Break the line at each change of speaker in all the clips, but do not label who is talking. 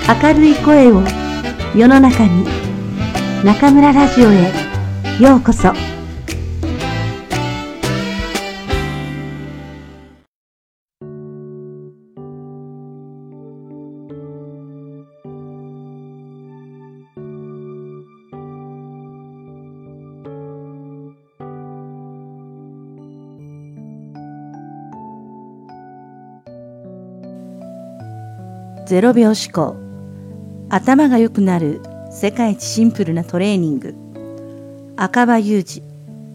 明るい声を世の中に。中村ラジオへようこそ。0秒思考。頭が良くなる世界一シンプルなトレーニング。赤羽裕二。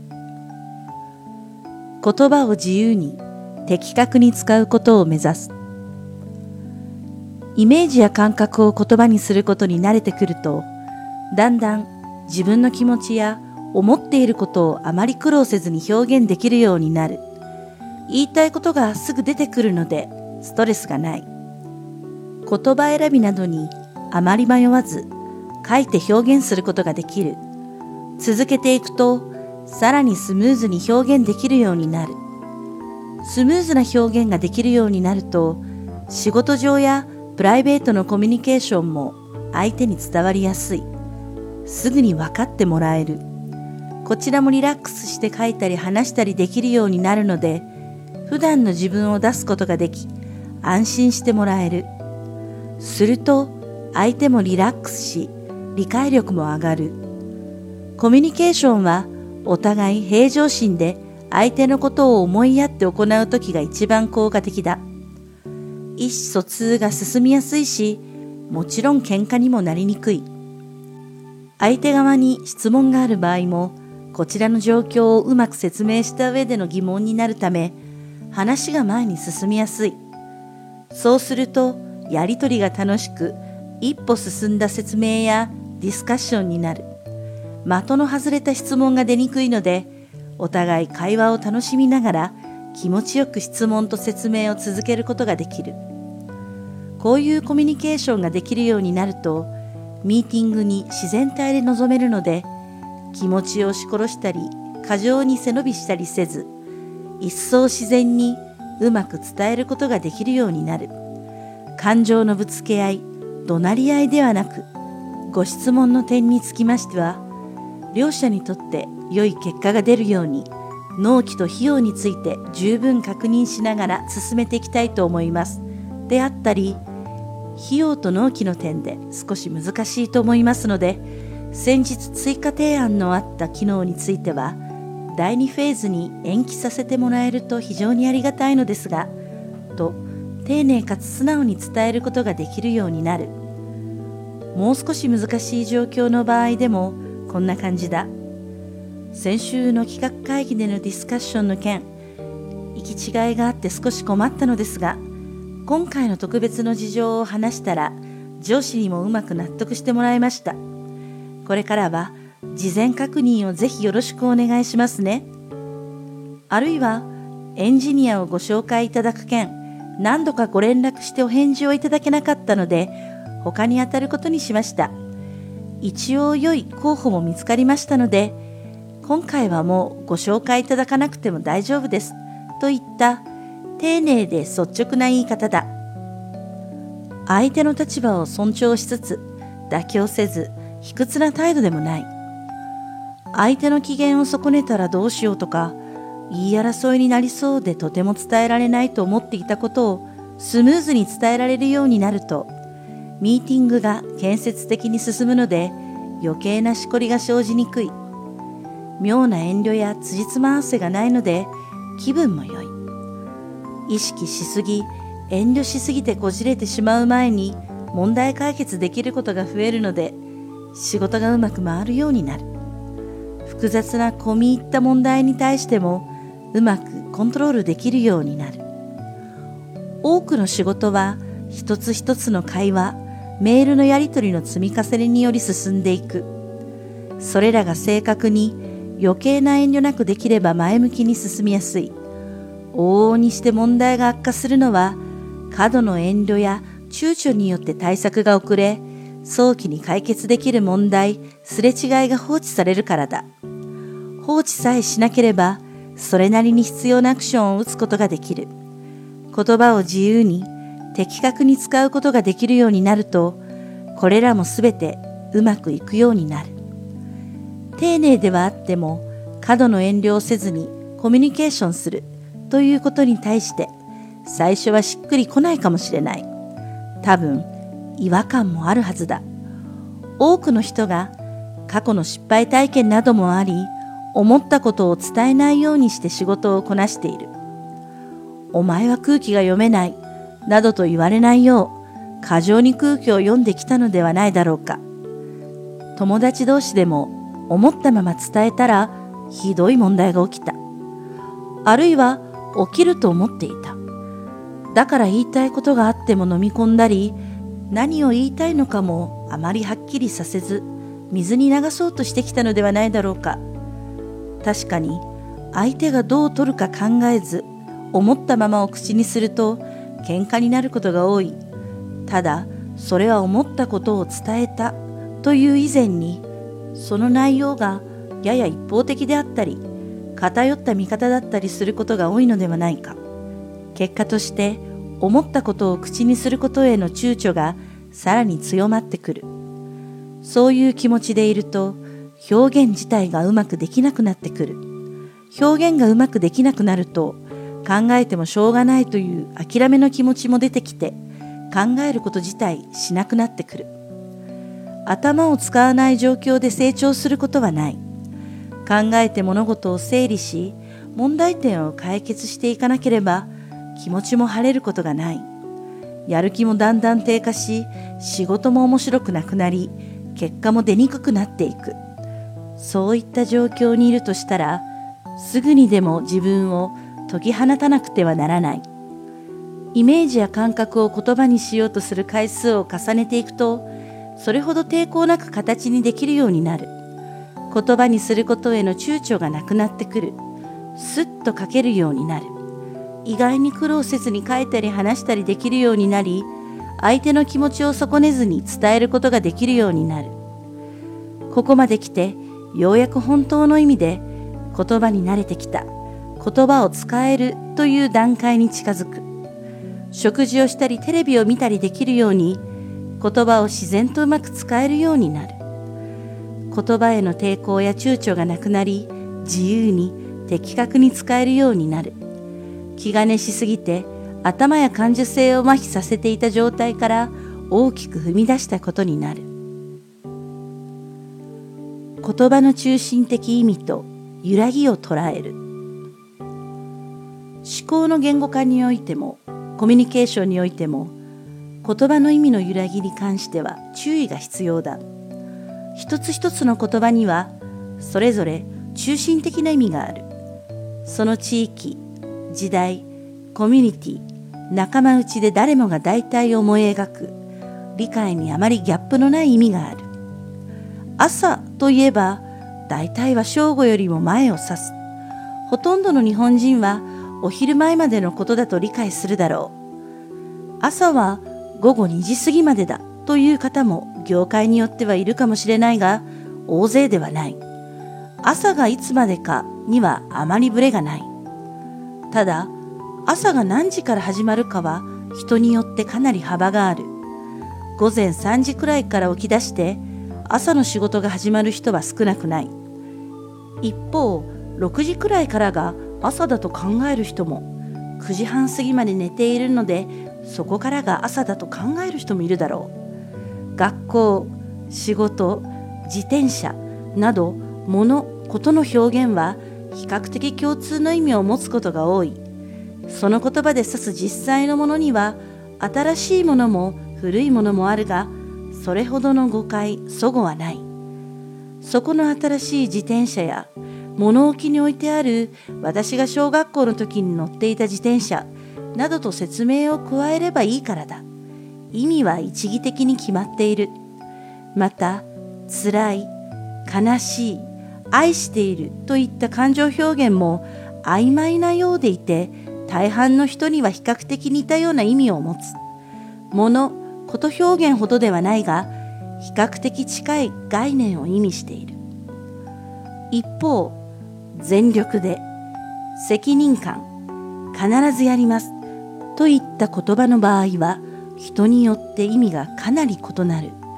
言葉を自由に的確に使うことを目指す。イメージや感覚を言葉にすることに慣れてくると、だんだん自分の気持ちや思っていることをあまり苦労せずに表現できるようになる。言いたいことがすぐ出てくるのでストレスがない。言葉選びなどにあまり迷わず書いて表現することができる。続けていくとさらにスムーズに表現できるようになる。スムーズな表現ができるようになると、仕事上やプライベートのコミュニケーションも相手に伝わりやすい。すぐに分かってもらえる。こちらもリラックスして書いたり話したりできるようになるので、普段の自分を出すことができ、安心してもらえる。すると相手もリラックスし、理解力も上がる。コミュニケーションはお互い平常心で相手のことを思いやって行うときが一番効果的だ。意思疎通が進みやすいし、もちろん喧嘩にもなりにくい。相手側に質問がある場合も、こちらの状況をうまく説明した上での疑問になるため、話が前に進みやすい。そうするとやりとりが楽しく、一歩進んだ説明やディスカッションになる。的の外れた質問が出にくいので、お互い会話を楽しみながら気持ちよく質問と説明を続けることができる。こういうコミュニケーションができるようになると、ミーティングに自然体で臨めるので、気持ちを押し殺したり過剰に背伸びしたりせず、一層自然にうまく伝えることができるようになる。感情のぶつけ合い、怒鳴り合いではなく、ご質問の点につきましては、両者にとって良い結果が出るように、納期と費用について十分確認しながら進めていきたいと思います。であったり、費用と納期の点で少し難しいと思いますので、先日追加提案のあった機能については、第2フェーズに延期させてもらえると非常にありがたいのですが、と丁寧かつ素直に伝えることができるようになる。もう少し難しい状況の場合でもこんな感じだ。先週の企画会議でのディスカッションの件、行き違いがあって少し困ったのですが、今回の特別の事情を話したら上司にもうまく納得してもらいました。これからは事前確認をぜひよろしくお願いしますね。あるいはエンジニアをご紹介いただく件、何度かご連絡してお返事をいただけなかったので、他に当たることにしました。一応良い候補も見つかりましたので、今回はもうご紹介いただかなくても大丈夫ですといった丁寧で率直な言い方だ。相手の立場を尊重しつつ、妥協せず卑屈な態度でもない。相手の機嫌を損ねたらどうしようとか、言い争いになりそうでとても伝えられないと思っていたことをスムーズに伝えられるようになると、ミーティングが建設的に進むので余計なしこりが生じにくい。妙な遠慮や辻褄合わせがないので気分も良い。意識しすぎ、遠慮しすぎてこじれてしまう前に問題解決できることが増えるので、仕事がうまく回るようになる。複雑な込み入った問題に対してもうまくコントロールできるようになる。多くの仕事は一つ一つの会話、メールのやり取りの積み重ねにより進んでいく。それらが正確に余計な遠慮なくできれば前向きに進みやすい。往々にして問題が悪化するのは、過度の遠慮や躊躇によって対策が遅れ、早期に解決できる問題、すれ違いが放置されるからだ。放置さえしなければ、それなりに必要なアクションを打つことができる。言葉を自由に、的確に使うことができるようになると、 これらもすべてうまくいくようになる。丁寧ではあっても過度の遠慮をせずにコミュニケーションするということに対して最初はしっくりこないかもしれない。多分違和感もあるはずだ。多くの人が過去の失敗体験などもあり、思ったことを伝えないようにして仕事をこなしている。お前は空気が読めないなどと言われないよう過剰に空気を読んできたのではないだろうか。友達同士でも思ったまま伝えたらひどい問題が起きた。あるいは起きると思っていた。だから言いたいことがあっても飲み込んだり、何を言いたいのかもあまりはっきりさせず、水に流そうとしてきたのではないだろうか。確かに相手がどう取るか考えず、思ったままを口にすると喧嘩になることが多い。ただ、それは思ったことを伝えたという以前に、その内容がやや一方的であったり、偏った見方だったりすることが多いのではないか。結果として、思ったことを口にすることへの躊躇がさらに強まってくる。そういう気持ちでいると、表現自体がうまくできなくなってくる。表現がうまくできなくなると、考えてもしょうがないという諦めの気持ちも出てきて、考えること自体しなくなってくる。頭を使わない状況で成長することはない。考えて物事を整理し、問題点を解決していかなければ、気持ちも晴れることがない。やる気もだんだん低下し、仕事も面白くなくなり、結果も出にくくなっていく。そういった状況にいるとしたら、すぐにでも自分を解き放たなくてはならない。イメージや感覚を言葉にしようとする回数を重ねていくと、それほど抵抗なく形にできるようになる。言葉にすることへの躊躇がなくなってくる。すっと書けるようになる。意外に苦労せずに書いたり話したりできるようになり、相手の気持ちを損ねずに伝えることができるようになる。ここまで来て、ようやく本当の意味で言葉に慣れてきた。言葉を使えるという段階に近づく。食事をしたりテレビを見たりできるように、言葉を自然とうまく使えるようになる。言葉への抵抗や躊躇がなくなり、自由に的確に使えるようになる。気兼ねしすぎて頭や感受性を麻痺させていた状態から大きく踏み出したことになる。言葉の中心的意味と揺らぎを捉える。思考の言語化においてもコミュニケーションにおいても、言葉の意味の揺らぎに関しては注意が必要だ。一つ一つの言葉にはそれぞれ中心的な意味がある。その地域、時代、コミュニティ、仲間内で誰もが大体思い描く、理解にあまりギャップのない意味がある。朝といえば、大体は正午よりも前を指す。ほとんどの日本人はお昼前までのことだと理解するだろう。朝は午後2時過ぎまでだという方も業界によってはいるかもしれないが、大勢ではない。朝がいつまでかにはあまりブレがない。ただ、朝が何時から始まるかは人によってかなり幅がある。午前3時くらいから起き出して朝の仕事が始まる人は少なくない。一方、6時くらいからが朝だと考える人も、9時半過ぎまで寝ているのでそこからが朝だと考える人もいるだろう。学校、仕事、自転車など物、ことの表現は比較的共通の意味を持つことが多い。その言葉で指す実際のものには新しいものも古いものもあるが、それほどの誤解、齟齬はない。そこの新しい自転車や物置に置いてある私が小学校の時に乗っていた自転車などと説明を加えればいいからだ。意味は一義的に決まっている。また、辛い、悲しい、愛しているといった感情表現も曖昧なようでいて、大半の人には比較的似たような意味を持つ。物、こと表現ほどではないが、比較的近い概念を意味している。一方、全力で、責任感、必ずやりますといった言葉の場合は、人によって意味がかなり異なる。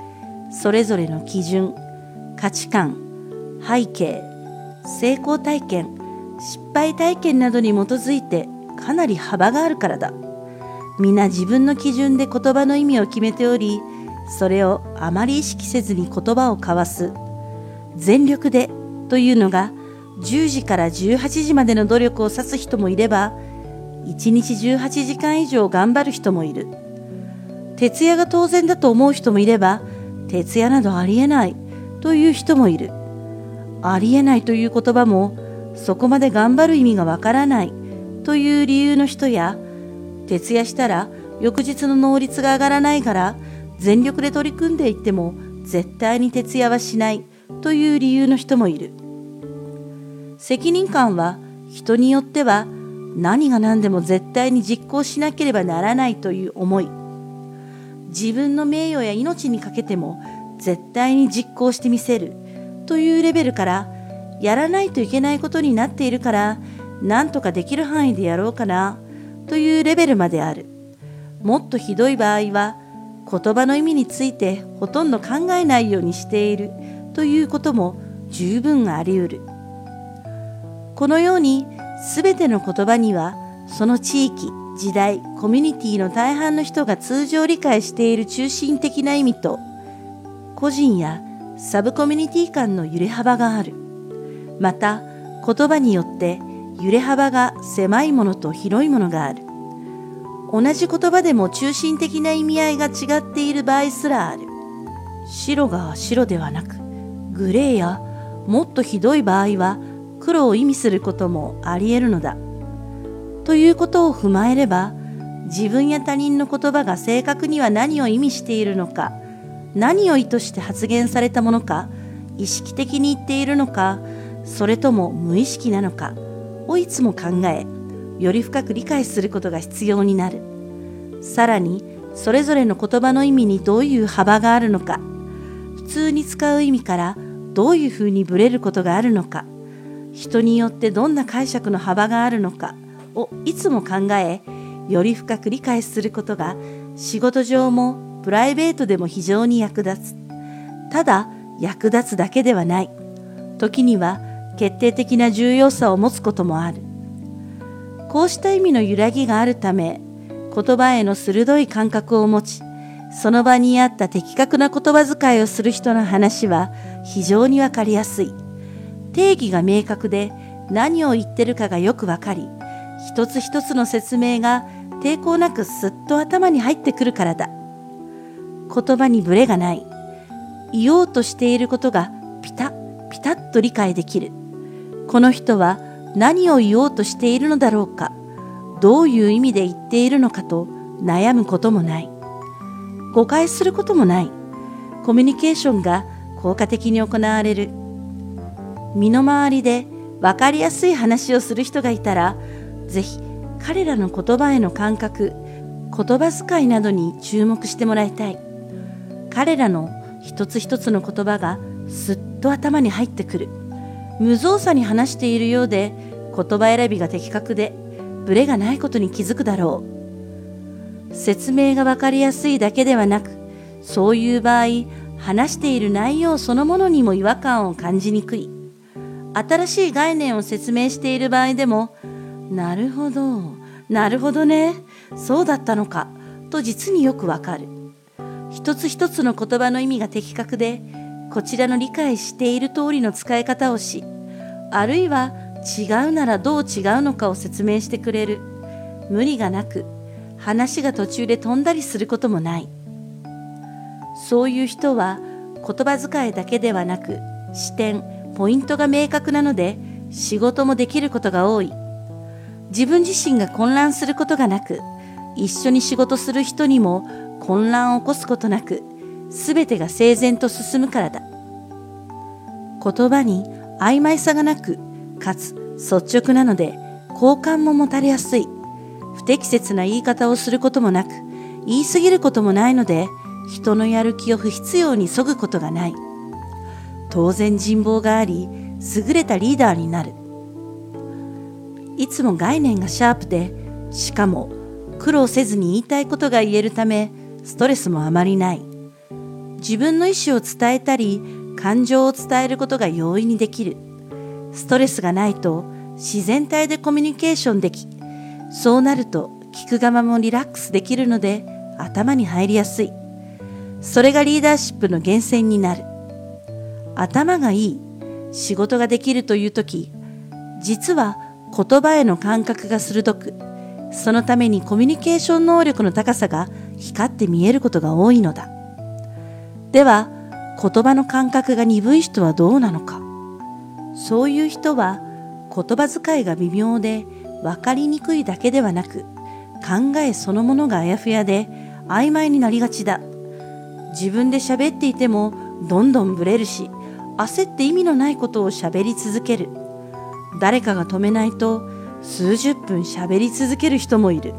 それぞれの基準、価値観、背景、成功体験、失敗体験などに基づいてかなり幅があるからだ。皆自分の基準で言葉の意味を決めており、それをあまり意識せずに言葉を交わす。全力でというのが10時から18時までの努力を指す人もいれば、1日18時間以上頑張る人もいる。徹夜が当然だと思う人もいれば、徹夜などありえないという人もいる。ありえないという言葉も、そこまで頑張る意味がわからないという理由の人や、徹夜したら翌日の能率が上がらないから全力で取り組んでいっても絶対に徹夜はしないという理由の人もいる。責任感は人によっては何が何でも絶対に実行しなければならないという思い。自分の名誉や命にかけても絶対に実行してみせるというレベルから、やらないといけないことになっているから何とかできる範囲でやろうかなというレベルまである。もっとひどい場合は、言葉の意味についてほとんど考えないようにしているということも十分あり得る。このようにすべての言葉には、その地域、時代、コミュニティの大半の人が通常理解している中心的な意味と、個人やサブコミュニティ間の揺れ幅がある。また、言葉によって揺れ幅が狭いものと広いものがある。同じ言葉でも中心的な意味合いが違っている場合すらある。白が白ではなく、グレーやもっとひどい場合は黒を意味することもあり得るのだ。ということを踏まえれば、自分や他人の言葉が正確には何を意味しているのか、何を意図して発言されたものか、意識的に言っているのか、それとも無意識なのかをいつも考え、より深く理解することが必要になる。さらに、それぞれの言葉の意味にどういう幅があるのか、普通に使う意味からどういうふうにブレることがあるのか、人によってどんな解釈の幅があるのかをいつも考え、より深く理解することが仕事上もプライベートでも非常に役立つ。ただ役立つだけではない。時には決定的な重要さを持つこともある。こうした意味の揺らぎがあるため、言葉への鋭い感覚を持ち、その場に合った的確な言葉遣いをする人の話は非常にわかりやすい。定義が明確で何を言ってるかがよくわかり、一つ一つの説明が抵抗なくすっと頭に入ってくるからだ。言葉にブレがない。言おうとしていることがピタッと理解できる。この人は何を言おうとしているのだろうか、どういう意味で言っているのかと悩むこともない。誤解することもない。コミュニケーションが効果的に行われる。身の回りで分かりやすい話をする人がいたら、ぜひ彼らの言葉への感覚、言葉遣いなどに注目してもらいたい。彼らの一つ一つの言葉がすっと頭に入ってくる。無造作に話しているようで、言葉選びが的確で、ブレがないことに気づくだろう。説明が分かりやすいだけではなく、そういう場合、話している内容そのものにも違和感を感じにくい。新しい概念を説明している場合でも、なるほどね、そうだったのか、と実によくわかる。一つ一つの言葉の意味が的確で、こちらの理解している通りの使い方をし、あるいは違うならどう違うのかを説明してくれる。無理がなく、話が途中で飛んだりすることもない。そういう人は言葉遣いだけではなく、視点、ポイントが明確なので、仕事もできることが多い。自分自身が混乱することがなく、一緒に仕事する人にも混乱を起こすことなく、すべてが整然と進むからだ。言葉に曖昧さがなく、かつ率直なので、好感も持たれやすい。不適切な言い方をすることもなく、言い過ぎることもないので、人のやる気を不必要に削ぐことがない。当然人望があり、優れたリーダーになる。いつも概念がシャープで、しかも苦労せずに言いたいことが言えるため、ストレスもあまりない。 自分の意思を伝えたり、感情を伝えることが容易にできる。ストレスがないと自然体でコミュニケーションでき、そうなると聞く側もリラックスできるので頭に入りやすい。それがリーダーシップの源泉になる。頭がいい、仕事ができるというとき、実は言葉への感覚が鋭く、そのためにコミュニケーション能力の高さが光って見えることが多いのだ。では、言葉の感覚が鈍い人はどうなのか。そういう人は言葉遣いが微妙で分かりにくいだけではなく、考えそのものがあやふやで曖昧になりがちだ。自分で喋っていてもどんどんブレるし、焦って意味のないことを喋り続ける。誰かが止めないと数十分喋り続ける人もいる。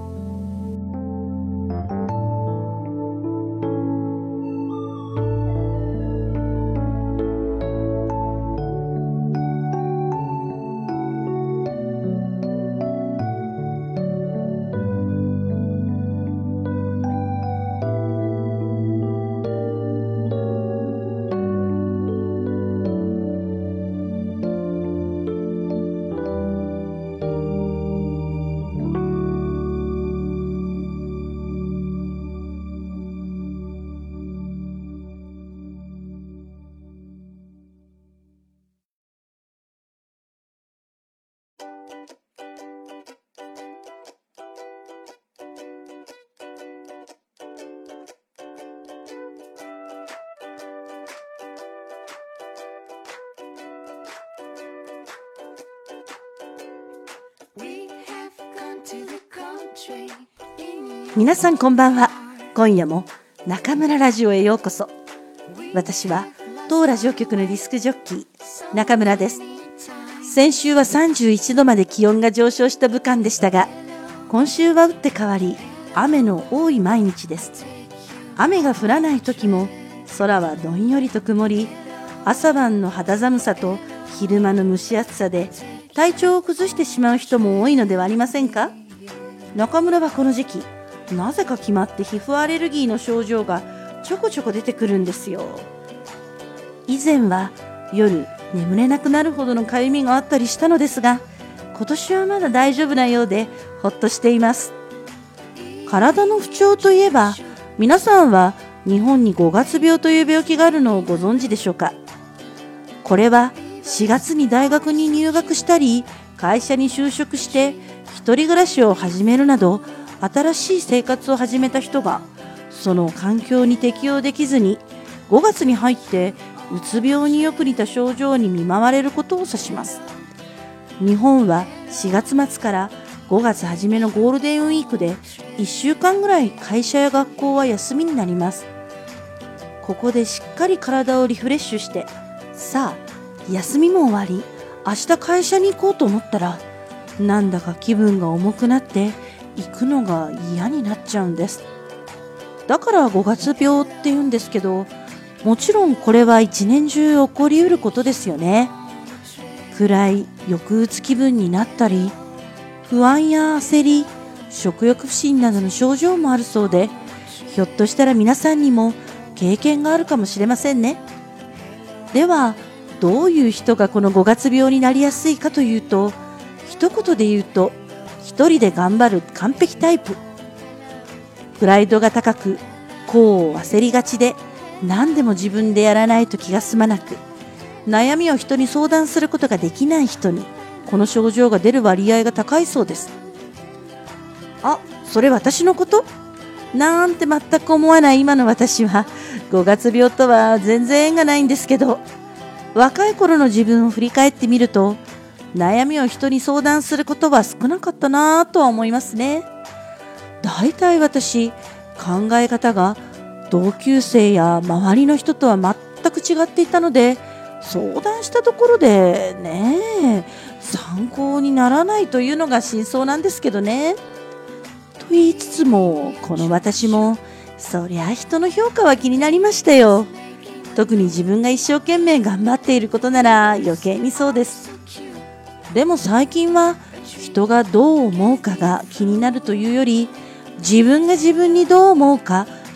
皆さんこんばんは。今夜も中村ラジオへようこそ。私は当ラジオ局のディスクジョッキー中村です。先週は31度まで気温が上昇した武漢でしたが、今週は打って変わり雨の多い毎日です。雨が降らない時も空はどんよりと曇り、朝晩の肌寒さと昼間の蒸し暑さで体調を崩してしまう人も多いのではありませんか。中村はこの時期なぜか決まって皮膚アレルギーの症状がちょこちょこ出てくるんですよ。以前は夜眠れなくなるほどのかゆみがあったりしたのですが、今年はまだ大丈夫なようでほっとしています。体の不調といえば、皆さんは日本に5月病という病気があるのをご存知でしょうか。これは4月に大学に入学したり会社に就職して一人暮らしを始めるなど新しい生活を始めた人がその環境に適応できずに5月に入ってうつ病によく似た症状に見舞われることを指します。日本は4月末から5月初めのゴールデンウィークで1週間ぐらい会社や学校は休みになります。ここでしっかり体をリフレッシュして、さあ休みも終わり明日会社に行こうと思ったら、なんだか気分が重くなって行くのが嫌になっちゃうんです。だから5月病って言うんですけど、もちろんこれは一年中起こりうることですよね。暗い抑うつ気分になったり、不安や焦り、食欲不振などの症状もあるそうで、ひょっとしたら皆さんにも経験があるかもしれませんね。ではどういう人がこの5月病になりやすいかというと、一言で言うと一人で頑張る完璧タイプ。プライドが高く、こう焦りがちで、何でも自分でやらないと気が済まなく、悩みを人に相談することができない人にこの症状が出る割合が高いそうです。あ、それ私のことなんて全く思わない今の私は5月病とは全然縁がないんですけど、若い頃の自分を振り返ってみると、悩みを人に相談することは少なかったなぁとは思いますね。だいたい私、考え方が同級生や周りの人とは全く違っていたので、相談したところでね、参考にならないというのが真相なんですけどね。と言いつつも、この私もそりゃ人の評価は気になりましたよ。特に自分が一生懸命頑張っていることなら余計にそうです。でも最近は人がどう思うかが気になるというより、自分が自分にどう思うか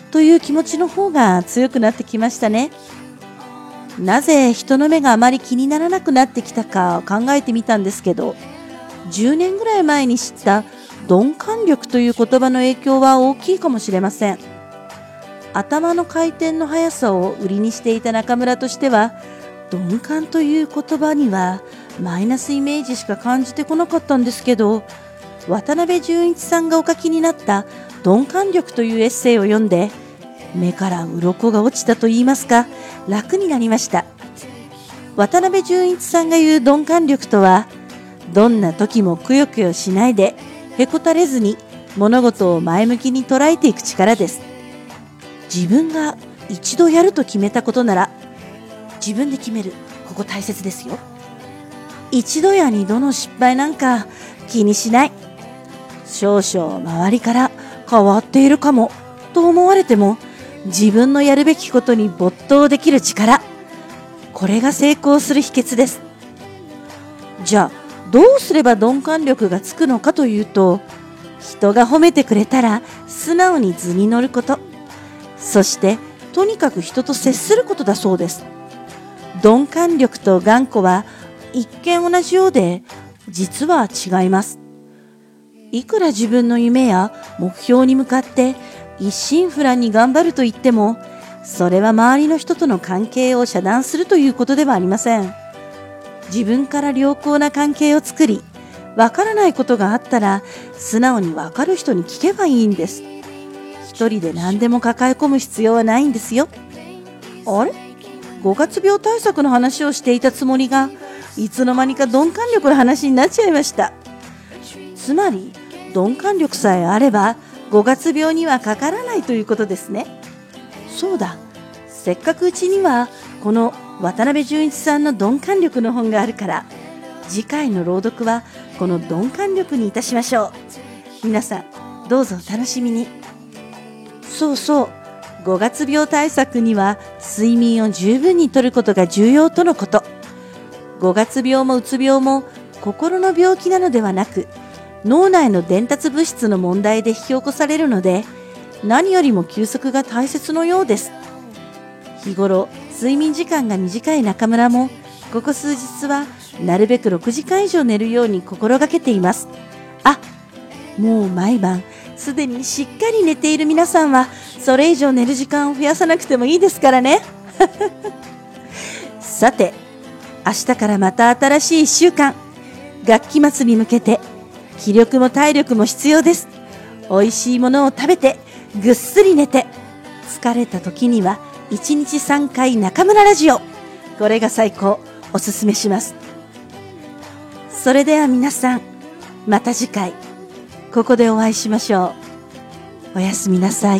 という気持ちの方が強くなってきましたね。なぜ人の目があまり気にならなくなってきたか考えてみたんですけど、10年ぐらい前に知った鈍感力という言葉の影響は大きいかもしれません。頭の回転の速さを売りにしていた中村としては、鈍感という言葉にはマイナスイメージしか感じてこなかったんですけど、渡辺淳一さんがお書きになった鈍感力というエッセイを読んで、目から鱗が落ちたと言いますか、楽になりました。渡辺淳一さんが言う鈍感力とは、どんな時もくよくよしないでへこたれずに物事を前向きに捉えていく力です。自分が一度やると決めたことなら自分で決める、ここ大切ですよ。一度や二度の失敗なんか気にしない。少々周りから変わっているかもと思われても、自分のやるべきことに没頭できる力、これが成功する秘訣です。じゃあどうすれば鈍感力がつくのかというと、人が褒めてくれたら素直に図に乗ること、そしてとにかく人と接することだそうです。鈍感力と頑固は一見同じようで、実は違います。いくら自分の夢や目標に向かって一心不乱に頑張ると言っても、それは周りの人との関係を遮断するということではありません。自分から良好な関係を作り、わからないことがあったら素直にわかる人に聞けばいいんです。一人で何でも抱え込む必要はないんですよ。あれ、5月病対策の話をしていたつもりが、いつの間にか鈍感力の話になっちゃいました。つまり鈍感力さえあれば5月病にはかからないということですね。そうだ、せっかくうちにはこの渡辺淳一さんの鈍感力の本があるから、次回の朗読はこの鈍感力にいたしましょう。皆さんどうぞお楽しみに。そうそう、5月病対策には睡眠を十分にとることが重要とのこと。5月病もうつ病も心の病気なのではなく、脳内の伝達物質の問題で引き起こされるので、何よりも休息が大切のようです。日頃睡眠時間が短い中村も、ここ数日はなるべく6時間以上寝るように心がけています。あ、もう毎晩すでにしっかり寝ている皆さんは、それ以上寝る時間を増やさなくてもいいですからね。さて、明日からまた新しい1週間、学期末に向けて気力も体力も必要です。おいしいものを食べて、ぐっすり寝て、疲れた時には1日3回中村ラジオ、これが最高、おすすめします。それでは皆さん、また次回ここでお会いしましょう。おやすみなさい。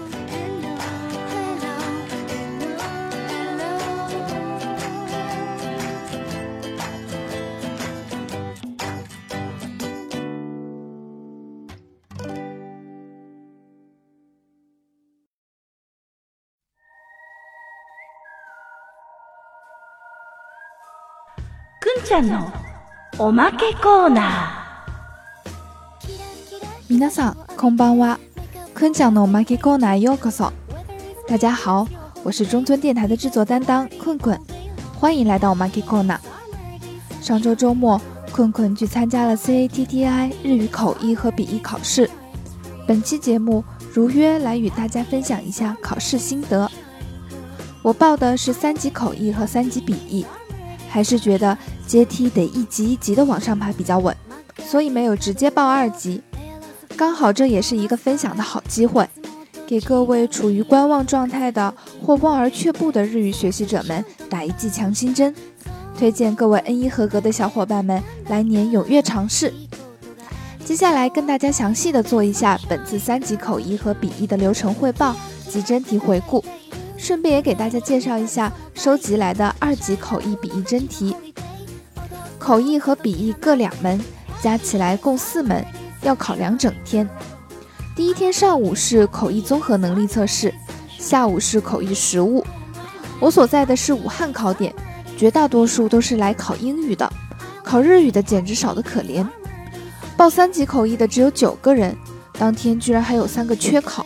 くんちゃんのおまけコーナー。
皆さんこんばんは，坤讲的おまけコーナーようこそ。大家好，我是中村电台的制作担当困困，欢迎来到おまけコーナー。上周周末，困困去参加了 CATTI 日语口译和笔译考试。本期节目如约来与大家分享一下考试心得。我报的是3级口译和3级笔译，还是觉得阶梯得一级一级的往上爬比较稳，所以没有直接报2级。刚好这也是一个分享的好机会，给各位处于观望状态的或望而却步的日语学习者们打一剂强心针，推荐各位 N1 合格的小伙伴们来年踊跃尝试。接下来跟大家详细的做一下本次3级口译和笔译的流程汇报及真题回顾，顺便也给大家介绍一下收集来的2级口译笔译真题。口译和笔译各2门，加起来共4门，要考2整天。第一天上午是口译综合能力测试，下午是口译实务。我所在的是武汉考点，绝大多数都是来考英语的，考日语的简直少得可怜。报3级口译的只有9个人，当天居然还有3个缺考，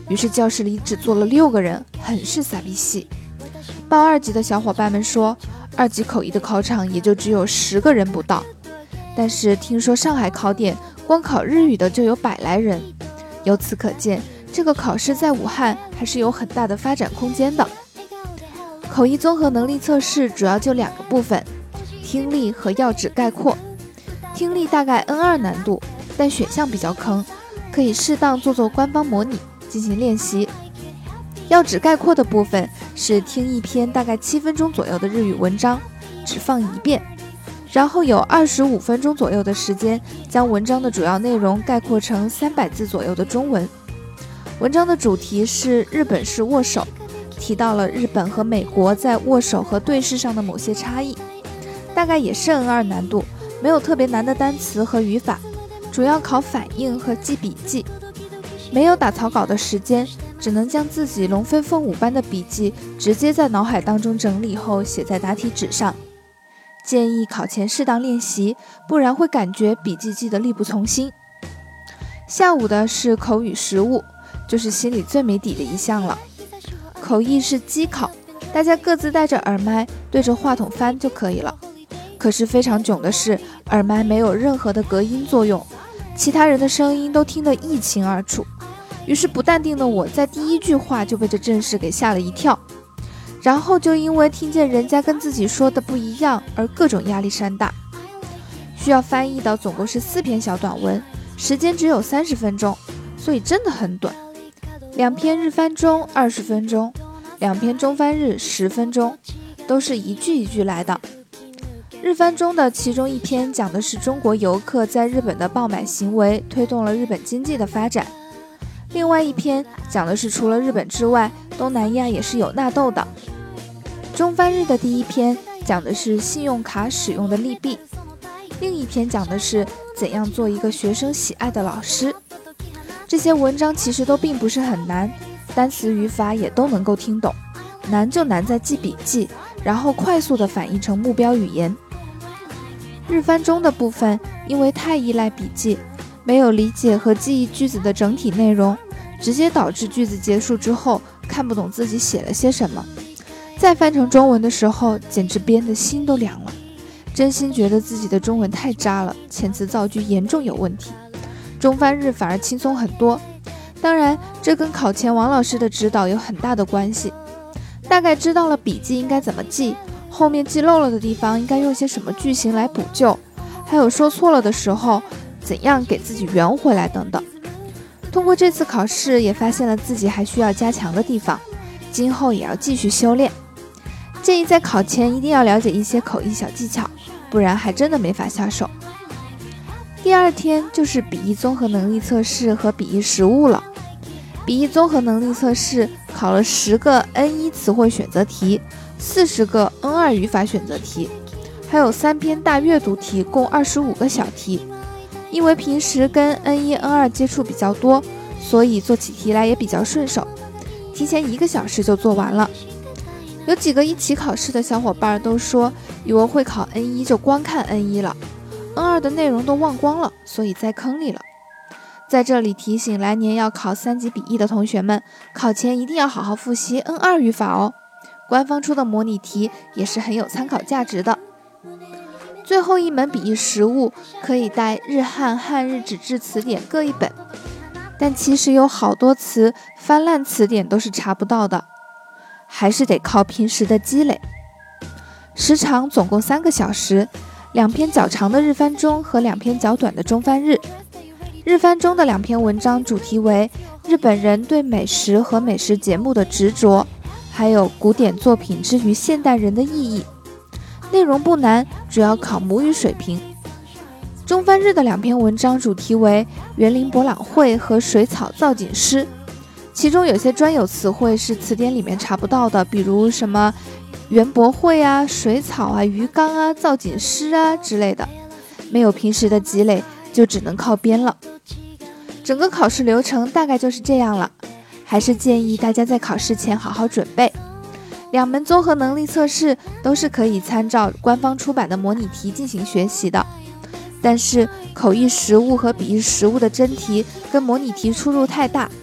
于是教室里只坐了6个人，很是傻逼戏。报2级的小伙伴们说，2级口译的考场也就只有10个人不到，但是听说上海考点光考日语的就有100来人，由此可见，这个考试在武汉还是有很大的发展空间的。口译综合能力测试主要就2个部分，听力和要旨概括。听力大概 N2 难度，但选项比较坑，可以适当做官方模拟进行练习。要旨概括的部分是听一篇大概7分钟左右的日语文章，只放1遍，然后有25分钟左右的时间将文章的主要内容概括成300字左右的中文。文章的主题是日本式握手，提到了日本和美国在握手和对视上的某些差异，大概也是 N2 难度，没有特别难的单词和语法，主要考反应和记笔记。没有打草稿的时间，只能将自己龙飞凤舞般的笔记直接在脑海当中整理后写在答题纸上。建议考前适当练习，不然会感觉笔记记得力不从心。下午的是口语实务，就是心里最没底的一项了。口译是机考，大家各自戴着耳麦对着话筒翻就可以了。可是非常囧的是，耳麦没有任何的隔音作用，其他人的声音都听得一清二楚。于是不淡定的我在第1句话就被这阵势给吓了一跳，然后就因为听见人家跟自己说的不一样而各种压力山大。需要翻译的总共是4篇小短文，时间只有30分钟，所以真的很短。2篇日翻中20分钟，2篇中翻日10分钟，都是一句一句来的。日翻中的其中1篇讲的是中国游客在日本的爆买行为推动了日本经济的发展，另外1篇讲的是除了日本之外，东南亚也是有纳豆的。中翻日的第1篇讲的是信用卡使用的利弊，另1篇讲的是怎样做一个学生喜爱的老师。这些文章其实都并不是很难，单词语法也都能够听懂，难就难在记笔记，然后快速的反译成目标语言。日翻中的部分因为太依赖笔记，没有理解和记忆句子的整体内容，直接导致句子结束之后看不懂自己写了些什么，再翻成中文的时候简直编得心都凉了，真心觉得自己的中文太渣了，遣词造句严重有问题。中翻日反而轻松很多，当然这跟考前王老师的指导有很大的关系。大概知道了笔记应该怎么记，后面记漏了的地方应该用些什么句型来补救，还有说错了的时候怎样给自己圆回来等等。通过这次考试也发现了自己还需要加强的地方，今后也要继续修炼。建议在考前一定要了解一些口译小技巧，不然还真的没法下手。第2天就是笔译综合能力测试和笔译实务了。笔译综合能力测试考了10个 N1 词汇选择题，40个 N2 语法选择题，还有3篇大阅读题，共25个小题。因为平时跟 N1、N2 接触比较多，所以做起题来也比较顺手，提前1个小时就做完了。有几个一起考试的小伙伴都说，以为会考 N1 就光看 N1 了，N2 的内容都忘光了，所以在坑里了。在这里提醒来年要考3级笔译的同学们，考前一定要好好复习 N2 语法哦，官方出的模拟题也是很有参考价值的。最后一门笔译实务可以带日汉、汉日纸质词典各1本，但其实有好多词翻烂词典都是查不到的，还是得靠平时的积累。时长总共3个小时，2篇较长的日翻中和2篇较短的中翻日。日翻中的2篇文章主题为日本人对美食和美食节目的执着，还有古典作品之于现代人的意义。内容不难，主要考母语水平。中翻日的2篇文章主题为园林博览会和水草造景师，其中有些专有词汇是词典里面查不到的，比如什么园博会啊、水草啊、鱼缸啊、造景师啊之类的，没有平时的积累，就只能靠编了。整个考试流程大概就是这样了，还是建议大家在考试前好好准备。2门综合能力测试都是可以参照官方出版的模拟题进行学习的，但是口译实务和笔译实务的真题跟模拟题出入太大，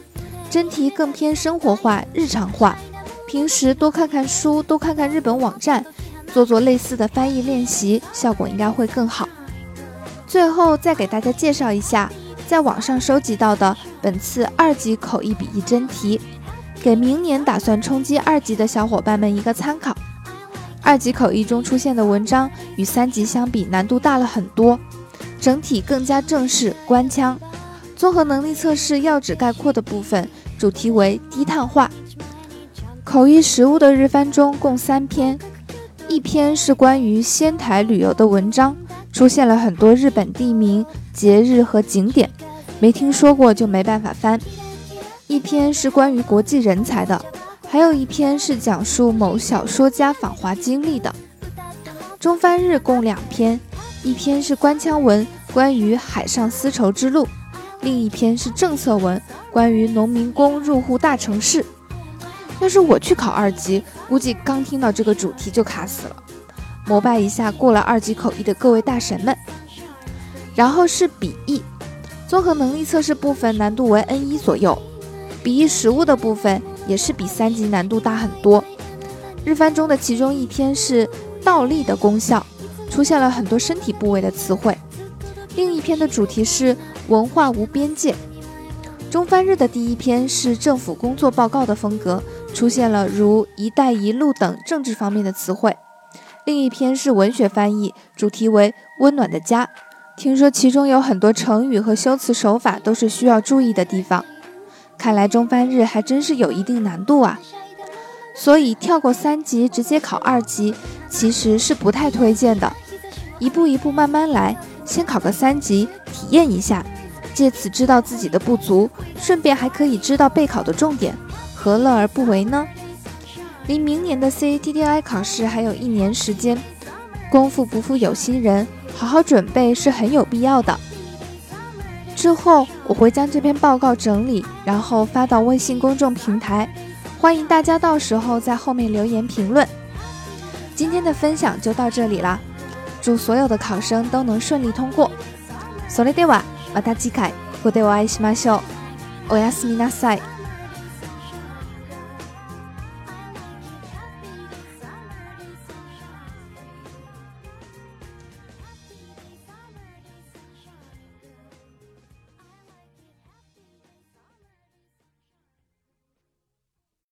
真题更偏生活化、日常化。平时多看看书，多看看日本网站，做类似的翻译练习，效果应该会更好。最后再给大家介绍一下在网上收集到的本次2级口译笔译真题，给明年打算冲击2级的小伙伴们一个参考。2级口译中出现的文章与3级相比难度大了很多，整体更加正式官腔。综合能力测试要旨概括的部分主题为低碳化。口译实务的日翻中共3篇，一篇是关于仙台旅游的文章，出现了很多日本地名、节日和景点，没听说过就没办法翻。一篇是关于国际人才的，还有一篇是讲述某小说家访华经历的。中翻日共2篇，一篇是官腔文，关于海上丝绸之路，另一篇是政策文，关于农民工入户大城市。要是我去考2级，估计刚听到这个主题就卡死了。膜拜一下过了2级口译的各位大神们。然后是笔译，综合能力测试部分难度为 N1 左右，笔译实务的部分也是比3级难度大很多。日翻中的其中一篇是倒立的功效，出现了很多身体部位的词汇。另一篇的主题是文化无边界。中翻日的第一篇是政府工作报告的风格，出现了如一带一路等政治方面的词汇。另一篇是文学翻译，主题为温暖的家。听说其中有很多成语和修辞手法都是需要注意的地方，看来中翻日还真是有一定难度啊。所以跳过3级直接考2级其实是不太推荐的，一步一步慢慢来，先考个3级体验一下，借此知道自己的不足，顺便还可以知道备考的重点，何乐而不为呢？离明年的 CATTI 考试还有1年时间，功夫不负有心人，好好准备是很有必要的。之后我会将这篇报告整理，然后发到微信公众平台，欢迎大家到时候在后面留言评论。今天的分享就到这里啦，祝所有的考生都能顺利通过。それではまた次回ここでお会いしましょう。おやすみなさい。